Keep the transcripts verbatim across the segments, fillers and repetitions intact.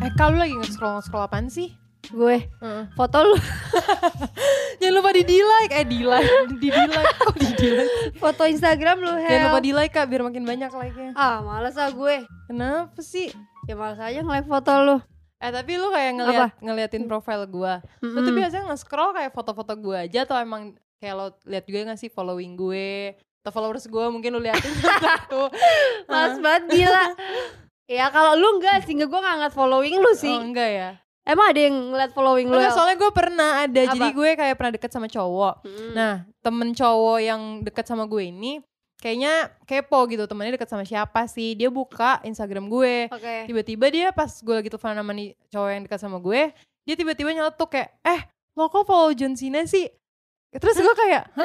Eh kalau lagi nge-scroll-nge-scroll apaan sih? Gue Uh. foto lu. Jangan lupa di di-like, eh di-like, di di-like, kok di di-like? Foto Instagram lu, Hel. Jangan lupa di-like Kak, biar makin banyak like-nya. Ah, males ah gue. Kenapa sih? Ya males aja nge-like foto lu. Eh tapi lu kayak ngeliat, ngeliatin profile gue. Lu tuh biasanya nge-scroll kayak foto-foto gue aja atau emang kayak lo liat juga gak sih following gue atau followers gue mungkin lu liatin satu. Males banget gila. Ya kalau lu enggak sih, enggak, gue gak ngeliat following lu sih. Oh enggak ya? Emang ada yang ngeliat following lu? Enggak, soalnya gue pernah ada. Apa? Jadi gue kayak pernah deket sama cowok. Hmm. Nah temen cowok yang deket sama gue ini kayaknya kepo gitu, temennya deket sama siapa sih. Dia buka Instagram gue. Oke. Tiba-tiba dia pas gue lagi telepon sama nih cowok yang dekat sama gue, dia tiba-tiba nyeletuk kayak, eh lo kok follow John Cena sih? Terus gue kayak, hah?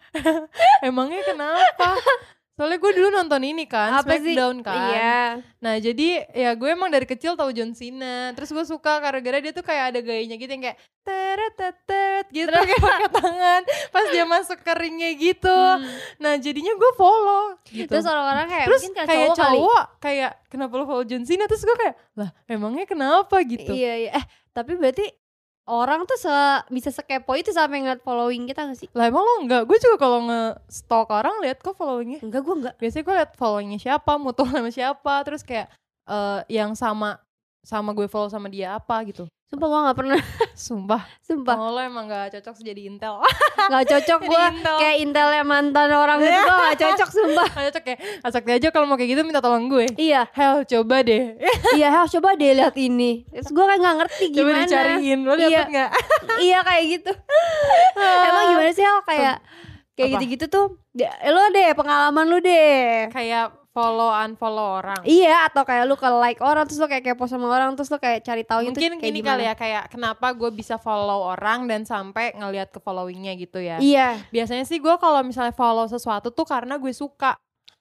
Emangnya kenapa? Soalnya gue dulu nonton ini kan, Apa sih? Smackdown kan. Iya. Nah jadi ya gue emang dari kecil tahu John Cena. Terus gue suka gara-gara dia tuh kayak ada gayanya gitu yang kayak teret-teret gitu kayak pakai tangan pas dia masuk ke ringnya gitu. Hmm. Nah jadinya gue follow gitu. Terus orang-orang kayak Terus mungkin kayak kayak cowok, kali. cowok kayak kenapa lo follow John Cena? Terus gue kayak lah emangnya kenapa gitu. Iya, iya. Eh tapi berarti orang tuh se bisa sekepo itu sampai ngeliat following kita gak sih? Lah emang lo enggak? Gue juga kalau nge-stalk orang lihat kok followingnya. Enggak, gue enggak. Biasanya gue liat followingnya siapa, mutual sama siapa. Terus kayak uh, yang sama sama gue follow sama dia apa gitu. Sumpah gue gak pernah. Sumpah. Sumpah. Oh lo emang gak cocok jadi intel. Gak cocok gue. Intel. Kayak intelnya mantan orang gitu. Gue gak cocok sumpah. Gak cocok ya. Asakti aja kalau mau kayak gitu minta tolong gue. Iya. Hel coba deh. Iya Hel coba deh lihat ini. Terus gue kayak gak ngerti gimana. Coba dicariin. Lo dapet Iya. gak? Iya kayak gitu. Emang gimana sih Hel kayak kayak Apa? gitu-gitu tuh. Ya, lo deh pengalaman lu deh. Kayak follow unfollow orang. Iya atau kayak lu ke like orang terus lu kayak kepo sama orang terus lu kayak cari tahu gitu Mungkin kayak gini gimana. kali ya, kayak kenapa gue bisa follow orang dan sampai ngelihat ke followingnya gitu ya. Iya. Biasanya sih gue kalau misalnya follow sesuatu tuh karena gue suka.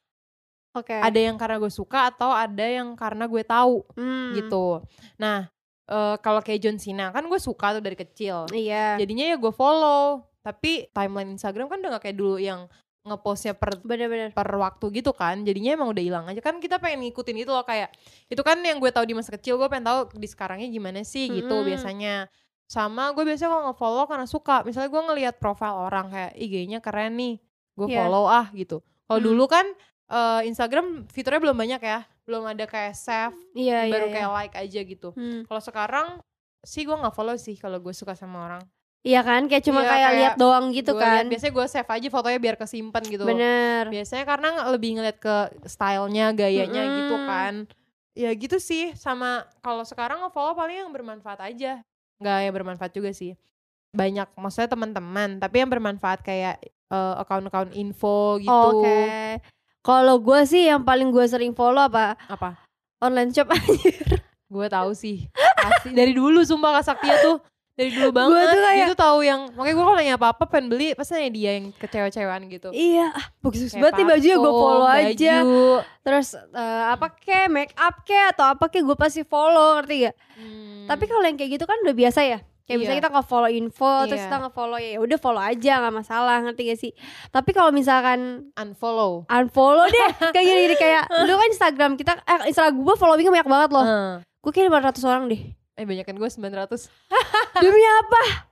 Oke. Ada yang karena gue suka atau ada yang karena gue tahu Hmm. gitu. Nah uh, kalau kayak John Cena kan gue suka tuh dari kecil. Iya. Jadinya ya gue follow. Tapi timeline Instagram kan udah gak kayak dulu yang ngepostnya per Bener-bener. per waktu gitu kan, jadinya emang udah hilang aja kan. Kita pengen ngikutin itu loh, kayak itu kan yang gue tahu di masa kecil, gue pengen tahu di sekarangnya gimana sih gitu. Mm-hmm. Biasanya sama gue biasanya kalau nge-follow karena suka, misalnya gue ngelihat profile orang kayak I G-nya keren nih, gue Yeah. follow ah gitu. Kalau Mm. dulu kan uh, Instagram fiturnya belum banyak ya, belum ada kayak save, Iya, baru iya, kayak iya. like aja gitu. Hmm. Kalau sekarang sih gue nggak follow sih kalau gue suka sama orang. Iya kan kayak cuma Iya, kayak, kayak lihat doang gitu Gua kan. liat, biasanya gue save aja fotonya biar kesimpan gitu. Bener. Biasanya karena lebih ngeliat ke stylenya, gayanya Mm-mm. gitu kan. Ya gitu sih. Sama kalau sekarang nge-follow paling yang bermanfaat aja. Nggak yang bermanfaat juga sih. Banyak maksudnya teman-teman, tapi yang bermanfaat kayak uh, account-account info gitu. Oke. Kalau gue sih yang paling gue sering follow apa? Apa? Online shop anjir. Gue tahu sih. Pasti dari dulu sumpah Kak Saktia tuh. Dari dulu banget. Gua tuh kayak- Dia tuh tahu yang, makanya gue kalau nanya apa-apa pengen beli, pasti nanya dia yang kecewa-cewaan gitu. Iya, ah, bagus Kayak banget nih bajunya gue parfum, follow aja. baju. Terus uh, apa kek, make up kek atau apa kek gue pasti follow, ngerti gak? Hmm. Tapi kalau yang kayak gitu kan udah biasa ya. Kayak Iya. misalnya kita nge-follow info, terus Iya. kita nge-follow ya udah follow aja nggak masalah, ngerti gak sih? Tapi kalau misalkan unfollow. unfollow deh, kayak gini-gini kayak lu kan Instagram kita, eh Instagram gue followingnya banyak banget loh. Heeh. Gue kayak lima ratus orang deh. Eh banyakan gue sembilan ratus. Demi apa?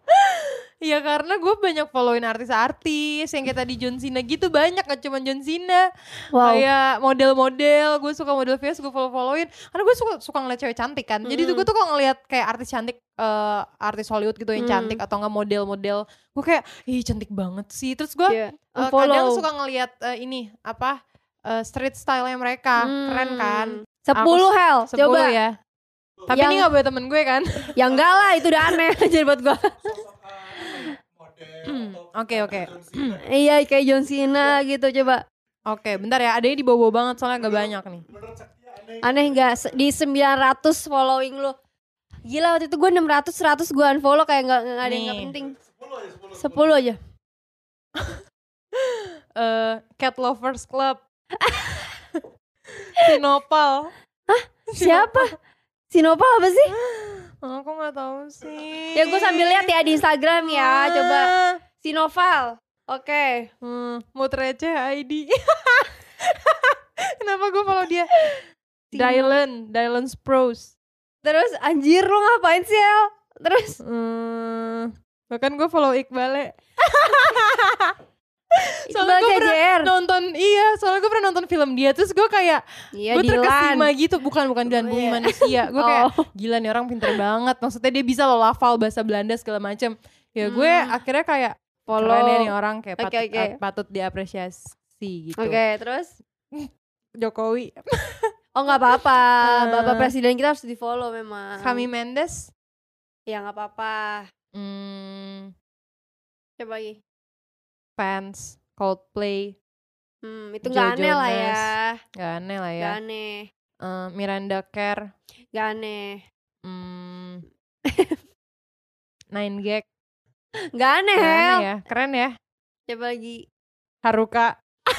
Ya karena gue banyak followin artis-artis yang kayak tadi John Cena gitu, banyak, gak cuma John Cena. Wow. Kayak model-model, gue suka model face, gue follow-followin. Karena gue suka suka ngeliat cewek cantik kan. Jadi tuh gue tuh kalau ngeliat kayak artis cantik, eh, artis Hollywood gitu yang Hmm. cantik atau enggak model-model, gue kayak ih cantik banget sih. Terus gue Iya, eh, unfollow. kadang suka ngeliat eh, ini apa eh, street style-nya mereka, Hmm. keren kan. Sepuluh hell, Sepuluh coba. ya. Tapi Yang- ini gak boleh temen gue kan. Ya enggak lah, itu udah aneh aja buat gue. Oke oke. Iya kayak John Cena gitu, coba. Oke, bentar ya. Adanya di bawah banget soalnya agak banyak nih. Aneh gak? Se- Di sembilan ratus following lu. Gila waktu itu gue enam ratus, seratus gue unfollow kayak gak, gak ada yang gak Nih. penting. sepuluh aja. Eh, Cat Lovers Club. Sinopal. Siapa? Sinopal apa sih? Oh, aku nggak tahu sih. Ya gue sambil lihat ya di Instagram ya, coba. Sinoval. Oke. Hmm, mood receh I D. Kenapa gue follow dia? Sino- Dylan, Dylan Sprouse. Terus anjir lu ngapain sih El? Terus Hmm, bahkan gue follow Iqbal. Iqbal Soalnya gue K J pernah R. nonton, iya soalnya gue pernah nonton film dia. Terus gue kayak, Iya, gue Dilan. terkesima gitu. Bukan, bukan Dilan, Bumi Iya. Manusia. Gue kayak, Oh. gila nih orang pinter banget. Maksudnya dia bisa loh hafal bahasa Belanda segala macem. Ya gue Hmm. akhirnya kayak, Follow. keren ya nih orang. Kayak Oke, patut, oke. patut diapresiasi gitu. Oke, terus? Jokowi. Oh nggak apa-apa, Eh. Bapak Presiden kita harus di follow memang. Kami Mendes. Ya nggak apa-apa. Hmm, Coba lagi. Fans. Coldplay. Hmm, itu Joe nggak aneh lah Jonas. ya. Gak aneh lah ya. Nggak aneh. Eh, Miranda Kerr. Nggak aneh. Hmm, Nine Gag. Nggak aneh, Gak Hel. aneh ya. Keren ya. Coba lagi. Haruka.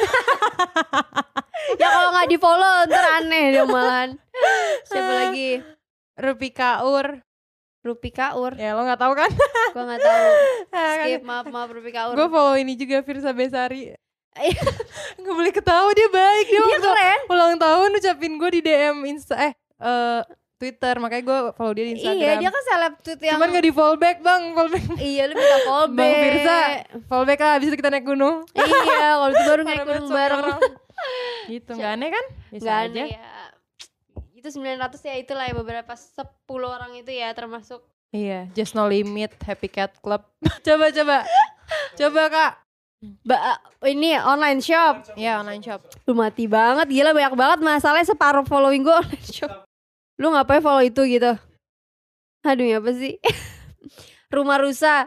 Ya kalau nggak di follow ntar aneh dong malahan. Siapa lagi? Rupi Kaur. Rupi Kaur. Ya lo gak tahu kan? Gue nggak tahu. Skip, maaf maaf Rupi Kaur. Gue follow ini juga Firsa Besari. Iya. Gak boleh ketawa, dia baik. Dia, Dia waktu keren. ulang tahun ucapin gue di D M Insta eh eh, Twitter. Makanya gue follow dia di Instagram. Iya, dia kan seleb tweet yang. Cuman gak di follow back bang. Follow back. Iya, lu minta follow back. Bang Firsa, follow back lah. Abis itu kita naik gunung. Iya, kalau itu baru naik Parah gunung banget bareng. suami orang. Gitu, gak aneh kan? Bisa Gak aja. aneh ya. Itu sembilan ratus ya, itulah ya beberapa sepuluh orang itu ya termasuk. Iya, Just No Limit, Happy Cat Club. Coba, coba. Coba kak. Ba ini online shop. Ya, online shop. Lu mati banget, gila banyak banget masalahnya separuh following gue online shop. Lu ngapain follow itu gitu? Aduh ya apa sih? Rumah rusa.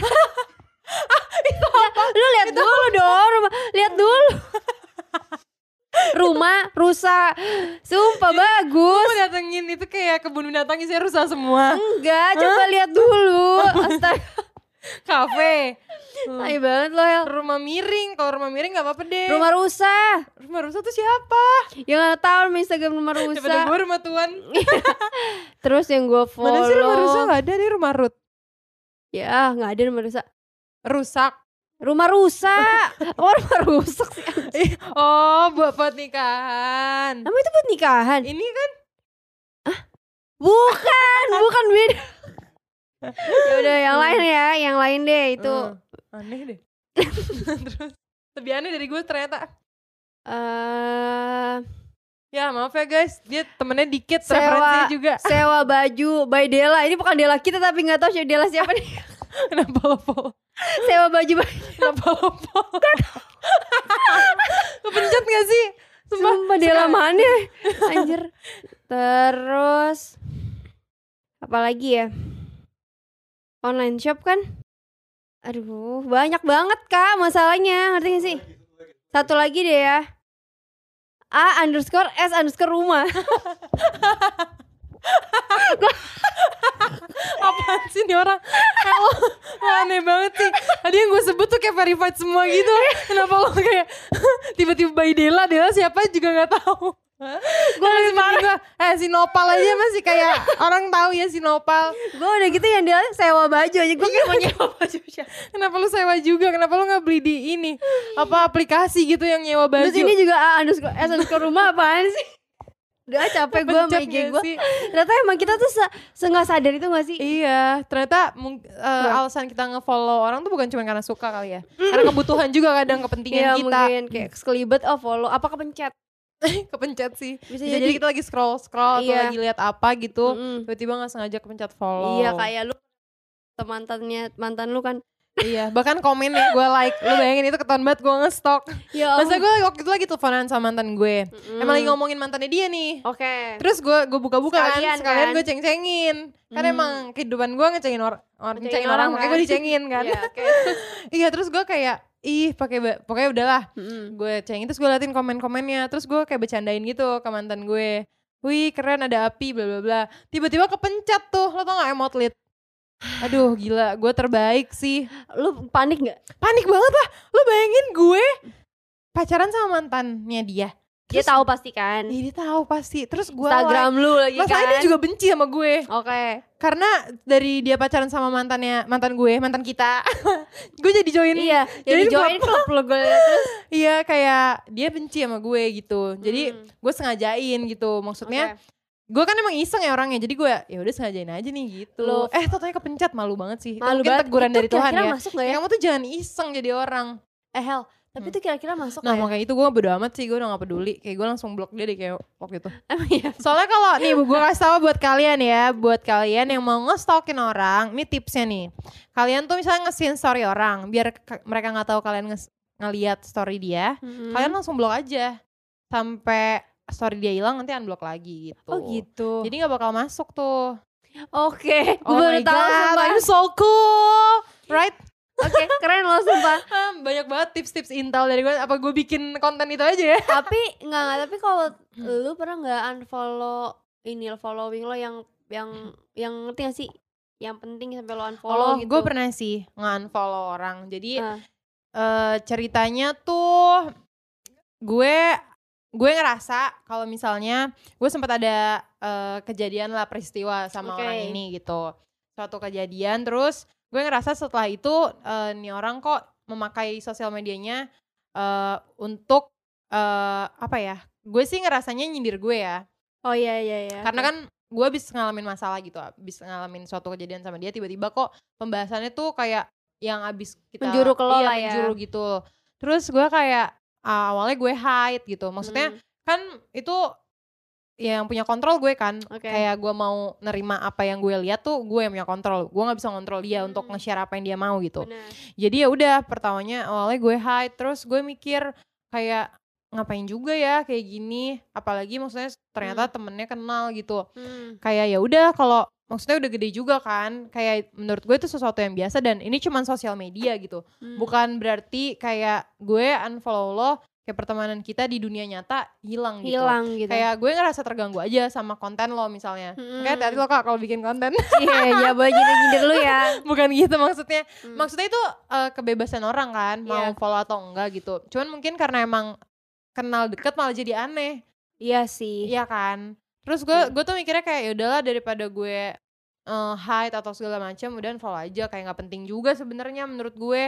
Itu apa? Lu lihat dulu dong, rumah, lihat dulu. Rumah rusa. Sumpah bagus. Gue datengin itu kayak kebun binatang isinya rusak semua. Enggak, coba lihat dulu. Astaga. Kafe. Tai banget lo ya. Rumah miring. Kalau rumah miring gak apa-apa deh. Rumah rusa. Rumah rusak tuh siapa? Ya gak tau nama Instagram rumah Daripada rusa. gue rumah tuan. Terus yang gue follow. Mana sih rumah rusak? Gak ada nih rumah Ruth. Ya gak ada rumah rusa. Rusak. Rumah rusak. Oh rumah rusak sih. Ih, oh buat pernikahan. Nama itu buat nikahan? Ini kan Bukan, bukan beda. Ya udah yang lain ya, yang lain deh itu. Hmm, aneh deh. Terus lebih aneh dari gue ternyata. Eh Ya maaf ya guys, dia temennya dikit, Sewa. referensinya juga. sewa baju by Dela. Ini bukan Dela kita tapi nggak tahu siapa Dela siapa nih. Kenapa lo follow? Sewa baju by Kenapa lo follow? Kepencet gak sih? Sumpah, Sumpah Dela mana? Anjir. Terus apa lagi ya? Online shop kan? Aduh, banyak banget Kak masalahnya. Ngerti gak sih? Satu lagi deh ya. A underscore S underscore rumah. apaan sih nih orang? Eh, lo, lo aneh banget sih. Tadi yang gue sebut tuh kayak verified semua gitu. Kenapa lo kayak tiba-tiba by Dela, Dela siapa juga gak tahu. Gue lagi gue, eh si Nopal aja masih kayak orang tahu ya si Nopal. Gue udah gitu yang dia sewa baju aja. Gue kayak mau nyewa baju siapa. Kenapa lu sewa juga? Kenapa lu gak beli di ini? Apa aplikasi gitu yang nyewa baju? Terus ini juga A underscore S underscore rumah apaan sih? Udah capek gue sama Pencet I G gak gue. sih? Ternyata emang kita tuh se, se gak sadar itu gak sih? Iya, ternyata mung- eh, alasan kita nge-follow orang tuh bukan cuma karena suka kali ya. Karena kebutuhan juga kadang kepentingan Iya kita. mungkin kayak sekelibet oh follow. Apa kepencet? Kepencet sih. Bisa Bisa, jadi. jadi kita lagi scroll-scroll atau Iya. lagi lihat apa gitu, Mm-mm. tiba-tiba gak sengaja kepencet follow. Iya kayak lu mantannya mantan lu kan. Iya, bahkan komen ya gue like. Lu bayangin itu ketahuan banget gue nge-stalk. Ya Masa gue waktu itu lagi teleponan sama mantan gue. Mm-mm. Emang lagi ngomongin mantannya dia nih. Oke. Terus gue gue buka-buka Sekalian kan, sekalian kan? gue ceng-cengin. Kan Hmm. emang kehidupan gue ngecengin or or Ngecengin ngecengin orang orang, makanya kan? gue dicengin kan. Iya, oke. Iya, terus gue kayak ih pakai ba- pokoknya udahlah. Mm-mm. Gue cengin terus gue liatin komen-komennya, terus gue kayak bercandain gitu ke mantan gue. Wih, keren ada api bla bla bla. Tiba-tiba kepencet tuh. Lo tau gak emot lit? Aduh, gila, gue terbaik sih. Lu panik gak? Panik banget lah. Lo bayangin gue pacaran sama mantannya dia. Dia Terus- tahu pasti kan. Ih, dia tahu pasti. Terus gue Instagram lu lagi masalahnya kan. dia juga benci sama gue. Oke. Karena dari dia pacaran sama mantannya, mantan gue, mantan kita. Gue jadi join. Iya, Jadi jadi join klub lu gue liat terus. Iya, kayak dia benci sama gue gitu. Jadi Hmm. gue sengajain gitu. Maksudnya Oke. gue kan emang iseng ya orangnya, jadi gue ya udah sengajain aja nih gitu. Love. Eh totalnya kepencet, malu banget sih. Malu Mungkin banget. teguran Itu dari Tuhan kira-kira ya. masuk gak ya? Kamu tuh jangan iseng jadi orang. Eh Hel, tapi Hmm. itu kira-kira masuk Nah gak ya? makanya itu gue bodo amat sih, gue udah gak peduli. Kayak gue langsung blok dia deh kayak waktu itu. Emang iya? Soalnya kalau nih gue kasih tau buat kalian ya, buat kalian yang mau nge-stalkin orang, ini tipsnya nih. Kalian tuh misalnya nge-scene story orang, biar ke- mereka gak tahu kalian nge- ngeliat story dia, Mm-mm. kalian langsung blok aja. Sampai story dia hilang nanti unblock lagi gitu. Oh gitu. Jadi gak bakal masuk tuh. Oke, gue Oh baru my tahu god, sumpah. I'm so cool. Right? Oke, keren loh sumpah. Ah, banyak banget tips-tips intel dari gue. Apa gue bikin konten itu aja ya? Tapi enggak enggak, tapi kalau lu pernah enggak unfollow ini following lo yang yang yang ngerti gak sih? Yang penting sampai lo unfollow Oh, gitu. gue pernah sih nge-unfollow orang. Jadi Ah. eh, ceritanya tuh gue gue ngerasa kalau misalnya gue sempat ada eh, kejadian lah peristiwa sama Oke. orang ini gitu. Suatu kejadian terus gue ngerasa setelah itu eh, nih orang kok memakai sosial medianya eh, untuk eh, apa ya? Gue sih ngerasanya nyindir gue ya. Oh iya iya iya. Karena kan gue abis ngalamin masalah gitu, abis ngalamin suatu kejadian sama dia, tiba-tiba kok pembahasannya tuh kayak yang abis kita Menjuru ke lo iya, lah ya. menjuru gitu. Terus gue kayak ah, awalnya gue hide gitu, maksudnya Hmm, kan itu yang punya kontrol gue kan. Oke. Kayak gue mau nerima apa yang gue lihat tuh gue yang punya kontrol, gue nggak bisa kontrol dia Hmm. untuk nge-share apa yang dia mau gitu. benar. Jadi ya udah pertamanya awalnya gue hide, terus gue mikir kayak ngapain juga ya kayak gini, apalagi maksudnya ternyata temennya kenal gitu. Hmm. Kayak ya udah kalau maksudnya udah gede juga kan, kayak menurut gue itu sesuatu yang biasa dan ini cuman sosial media gitu. Hmm. Bukan berarti kayak gue unfollow lo, kayak pertemanan kita di dunia nyata hilang gitu. hilang gitu. Kayak gue ngerasa terganggu aja sama konten lo misalnya. Hmm. Kayak hati-hati lo kak kalau bikin konten. Iya, ya boleh nyindir lu ya. Bukan gitu maksudnya. Hmm. Maksudnya itu eh, kebebasan orang kan, mau Iya. follow atau enggak gitu. Cuman mungkin karena emang kenal deket malah jadi aneh. Iya sih. Iya kan. Terus gue Hmm. gue tuh mikirnya kayak ya udahlah daripada gue eh, hide atau segala macam, udah follow aja, kayak nggak penting juga sebenarnya menurut gue.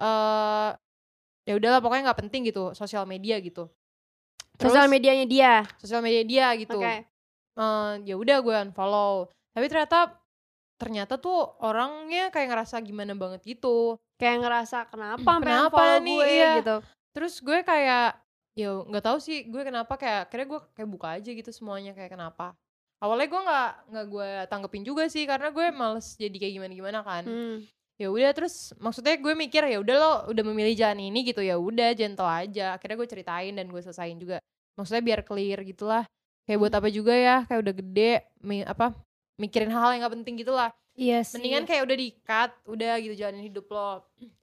eh ya udahlah pokoknya nggak penting gitu sosial media gitu. Terus Sosial medianya dia. sosial media dia gitu. Oke. Eh, ya udah gue unfollow. Tapi ternyata ternyata tuh orangnya kayak ngerasa gimana banget gitu. Kayak ngerasa kenapa sampai Kenapa unfollow nih? gue Iya. gitu. Terus gue kayak ya nggak tahu sih gue kenapa, kayak akhirnya gue kayak buka aja gitu semuanya kayak kenapa. Awalnya gue nggak nggak gue tanggepin juga sih karena gue males jadi kayak gimana gimana kan. Hmm. Ya udah terus maksudnya gue mikir ya udah lo udah memilih jalan ini gitu, ya udah gentle aja. Akhirnya gue ceritain dan gue selesain juga. Maksudnya biar clear gitulah. Kayak buat apa juga ya, kayak udah gede mi, apa mikirin hal-hal yang nggak penting gitulah. Iya sih. Mendingan kayak udah di-cut, udah gitu jalanin hidup lo.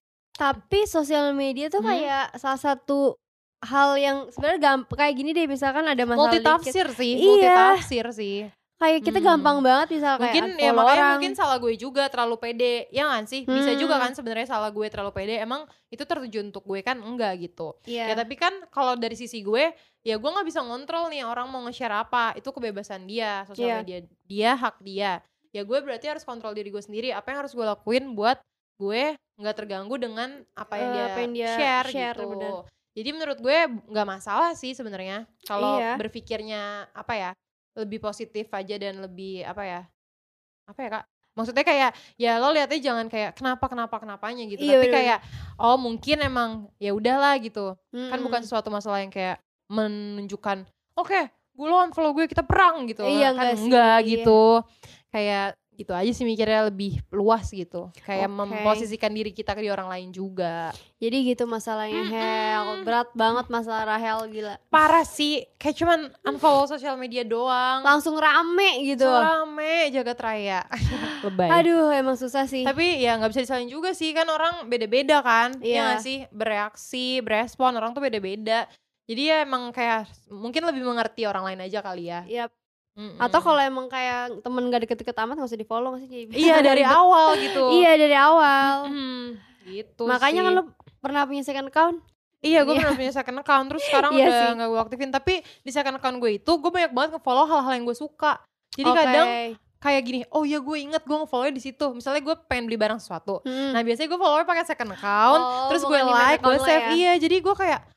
Tapi sosial media tuh Hmm? kayak salah satu hal yang sebenarnya gampang kayak gini deh, misalkan ada masalah Multi dikit. tafsir sih, Iya. multi tafsir sih. Kayak kita Hmm. gampang banget misal kayak Mungkin ya unfollow makanya orang. mungkin salah gue juga terlalu pede. Ya kan sih? Bisa Hmm. juga kan sebenarnya salah gue terlalu pede. Emang itu tertuju untuk gue kan? Enggak gitu. Iya. Ya tapi kan kalau dari sisi gue, ya gue nggak bisa ngontrol nih orang mau nge-share apa. Itu kebebasan dia, sosial Iya. media dia, hak dia. Ya gue berarti harus kontrol diri gue sendiri. Apa yang harus gue lakuin buat gue nggak terganggu dengan apa yang, Eh, dia, apa yang dia share, share, gitu. bener. Jadi menurut gue nggak masalah sih sebenarnya. Kalau Iya. berpikirnya apa ya, lebih positif aja dan lebih apa ya? Apa ya kak? Maksudnya kayak ya lo lihatnya jangan kayak kenapa kenapa kenapanya gitu. Iya, Tapi bener. kayak oh mungkin emang ya udahlah gitu. Kan Mm-mm. bukan suatu masalah yang kayak menunjukkan oke gue lo unfollow gue kita perang gitu. Iya, kan enggak sih, enggak iya. gitu. Kayak gitu aja sih mikirnya, lebih luas gitu. Kayak Oke. memposisikan diri kita ke di orang lain juga. Jadi gitu masalahnya Hel. Berat banget masalah Rahel, gila. Parah sih, kayak cuman unfollow sosial media doang. Langsung rame gitu. So rame jagat raya. Lebay. Aduh, emang susah sih. Tapi ya nggak bisa disalin juga sih, kan orang beda-beda kan. Iya Iya. nggak sih, bereaksi, berespon orang tuh beda-beda. Jadi ya emang kayak mungkin lebih mengerti orang lain aja kali ya. Yap. Mm-mm. Atau kalau emang kayak temen gak deket-deket amat gak usah di follow gak sih? Jadi- iya dari awal gitu. Iya dari awal. Mm-mm. Gitu Makanya sih. kan lo pernah punya second account? Iya, gue Iya. pernah punya second account, terus sekarang Iya udah sih. gak gue aktifin. Tapi di second account gue itu gue banyak banget nge-follow hal-hal yang gue suka. Jadi Oke. kadang kayak gini, oh ya gue inget gue nge-follow di situ. Misalnya gue pengen beli barang sesuatu. Hmm. Nah biasanya gue follow pakai second account, Oh, terus bukan gue di main like, gue account lo save. ya? Iya, jadi gue kayak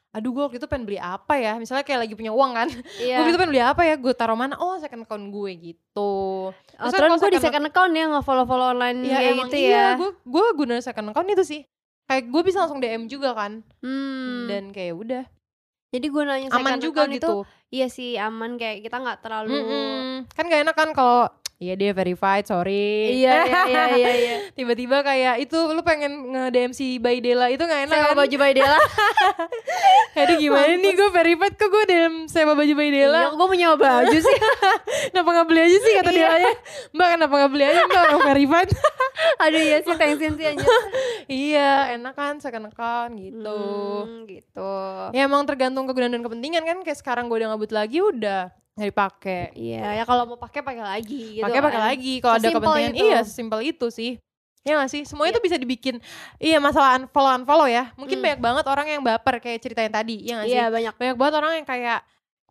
aduh gue waktu itu pengen beli apa ya, misalnya kayak lagi punya uang kan, Iya. gue gitu pengen beli apa ya, gue taruh mana, oh second account gue gitu. Oh, terus gue di second account ya nge-follow-follow online ya kayak emang gitu iya, ya. gue gue guna second account itu sih, kayak gue bisa langsung D M juga kan, Hmm. dan kayak udah Jadi gue nanya second aman juga account gitu. itu iya sih aman, kayak kita nggak terlalu Mm-mm. Kan gak enak kan kalau iya dia verified, sorry. iya iya iya iya, iya. Tiba-tiba kayak itu lu pengen nge-D M si Baydela itu gak enak Sewa kan. baju Baydela. Aduh gimana nih gue verified kok gue D M sewa baju Iya, Baydela. gue mau nyewa baju sih. Kenapa gak beli aja sih kata dia aja. Mbak kenapa gak beli aja mbak orang verified. Aduh iya sih, thanksin sih anjir. Iya enak kan second account gitu. Hmm, gitu. Ya emang tergantung kegunaan dan kepentingan kan. Kayak sekarang gue udah ngebut lagi udah gak dipakai. Iya, ya kalau mau pakai pakai lagi gitu. Pakai pakai kan. lagi kalau ada Sesimpel kepentingan. itu. Iya sesimpel itu sih. Ya gak sih? Semuanya Iya. tuh bisa dibikin. Iya masalah unfollow unfollow ya. Mungkin Hmm. banyak banget orang yang baper kayak ceritain tadi. Iya gak sih? Iya, banyak. Banyak banget orang yang kayak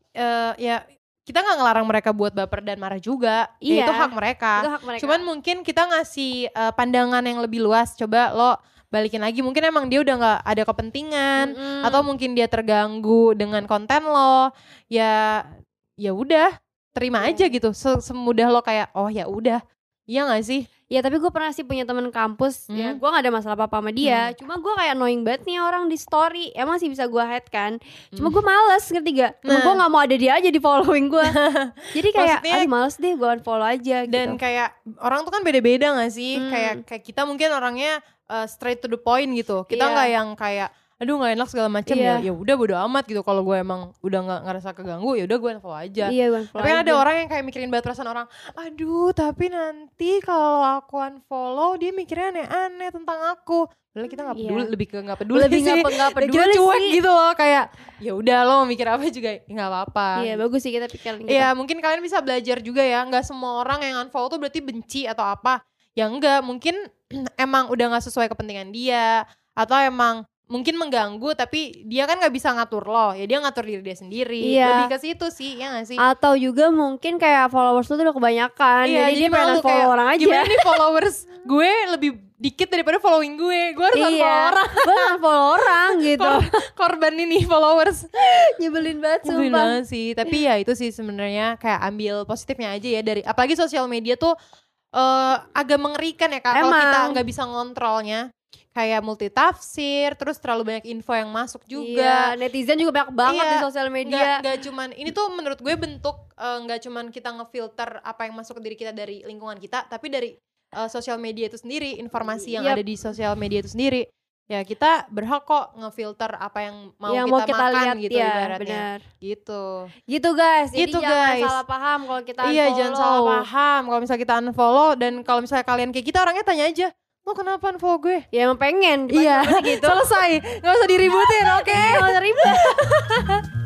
eh ya kita gak ngelarang mereka buat baper dan marah juga. Ya, Iya. itu hak mereka. Itu hak mereka. Cuman mungkin kita ngasih eh, pandangan yang lebih luas. Coba lo balikin lagi. Mungkin emang dia udah gak ada kepentingan. Mm-mm. Atau mungkin dia terganggu dengan konten lo. Ya ya udah terima Iya. aja gitu. Se- Semudah lo kayak oh ya udah. Iya gak sih? Ya tapi gue pernah sih punya temen kampus, ya Hmm. gue gak ada masalah apa-apa sama dia. Cuma gue kayak annoying banget nih orang di story. Emang sih bisa gue hide kan. Cuma gue males, ngerti gak? Temen Nah. gue gak mau ada dia aja di following gue. Jadi kayak, Maksudnya- aduh males deh gue unfollow aja Dan gitu. kayak orang tuh kan beda-beda gak sih? Hmm. Kayak kayak kita mungkin orangnya uh, straight to the point gitu. Kita Iya. nggak yang kayak aduh nggak enak segala macam Iya. ya. Ya udah bodo amat gitu. Kalau gue emang udah nggak ngerasa keganggu ya udah gue unfollow aja. Iya gue unfollow Tapi kan ada aja. orang yang kayak mikirin banget perasaan orang. Aduh tapi nanti kalau aku unfollow dia mikirnya aneh-aneh tentang aku. Padahal kita nggak Iya. peduli, lebih ke nggak peduli Lebih sih. nggak pe- nggak Ya, peduli kita cuek sih. gitu loh kayak ya udah lo mau mikir apa juga ya nggak apa-apa. Iya bagus sih kita pikirin gitu. Iya mungkin kalian bisa belajar juga ya. Nggak semua orang yang unfollow tuh berarti benci atau apa. Ya enggak, mungkin emang udah gak sesuai kepentingan dia. Atau emang mungkin mengganggu tapi dia kan gak bisa ngatur lo. Ya dia ngatur diri dia sendiri. Iya. Lebih ke situ sih, ya gak sih? Atau juga mungkin kayak followers lu tuh udah kebanyakan. Iya, jadi, dia pengen malu follow kayak, orang aja. gimana nih followers gue lebih dikit daripada following gue. Gue harus unfollow Iya, orang. gue unfollow orang gitu. Kor- Korban ini followers. Nyebelin banget Nyebelin sumpah. banget sih. Tapi ya itu sih sebenarnya kayak ambil positifnya aja ya dari apalagi sosial media tuh eh, agak mengerikan ya Kak kalau Emang. kita nggak bisa ngontrolnya. Kayak multitafsir, terus terlalu banyak info yang masuk juga. Iya, netizen juga banyak banget Iya, di sosial Nggak, media. nggak cuman ini tuh menurut gue bentuk eh, nggak cuman kita ngefilter apa yang masuk ke diri kita dari lingkungan kita, tapi dari eh, sosial media itu sendiri, informasi yang Yap. ada di sosial media itu sendiri. Ya kita berhak kok ngefilter apa yang mau yang kita mau kita makan lihat gitu ya, ibaratnya. benar. Gitu. Gitu guys. Jadi Gitu, jangan guys. salah paham kalau kita Iya unfollow. jangan salah paham kalau misalnya kita unfollow dan kalau misalnya kalian kayak kita orangnya tanya aja, lo kenapa unfollow gue? Ya emang pengen. Iya Gitu. selesai, nggak usah diributin, oke? Nggak usah ribet.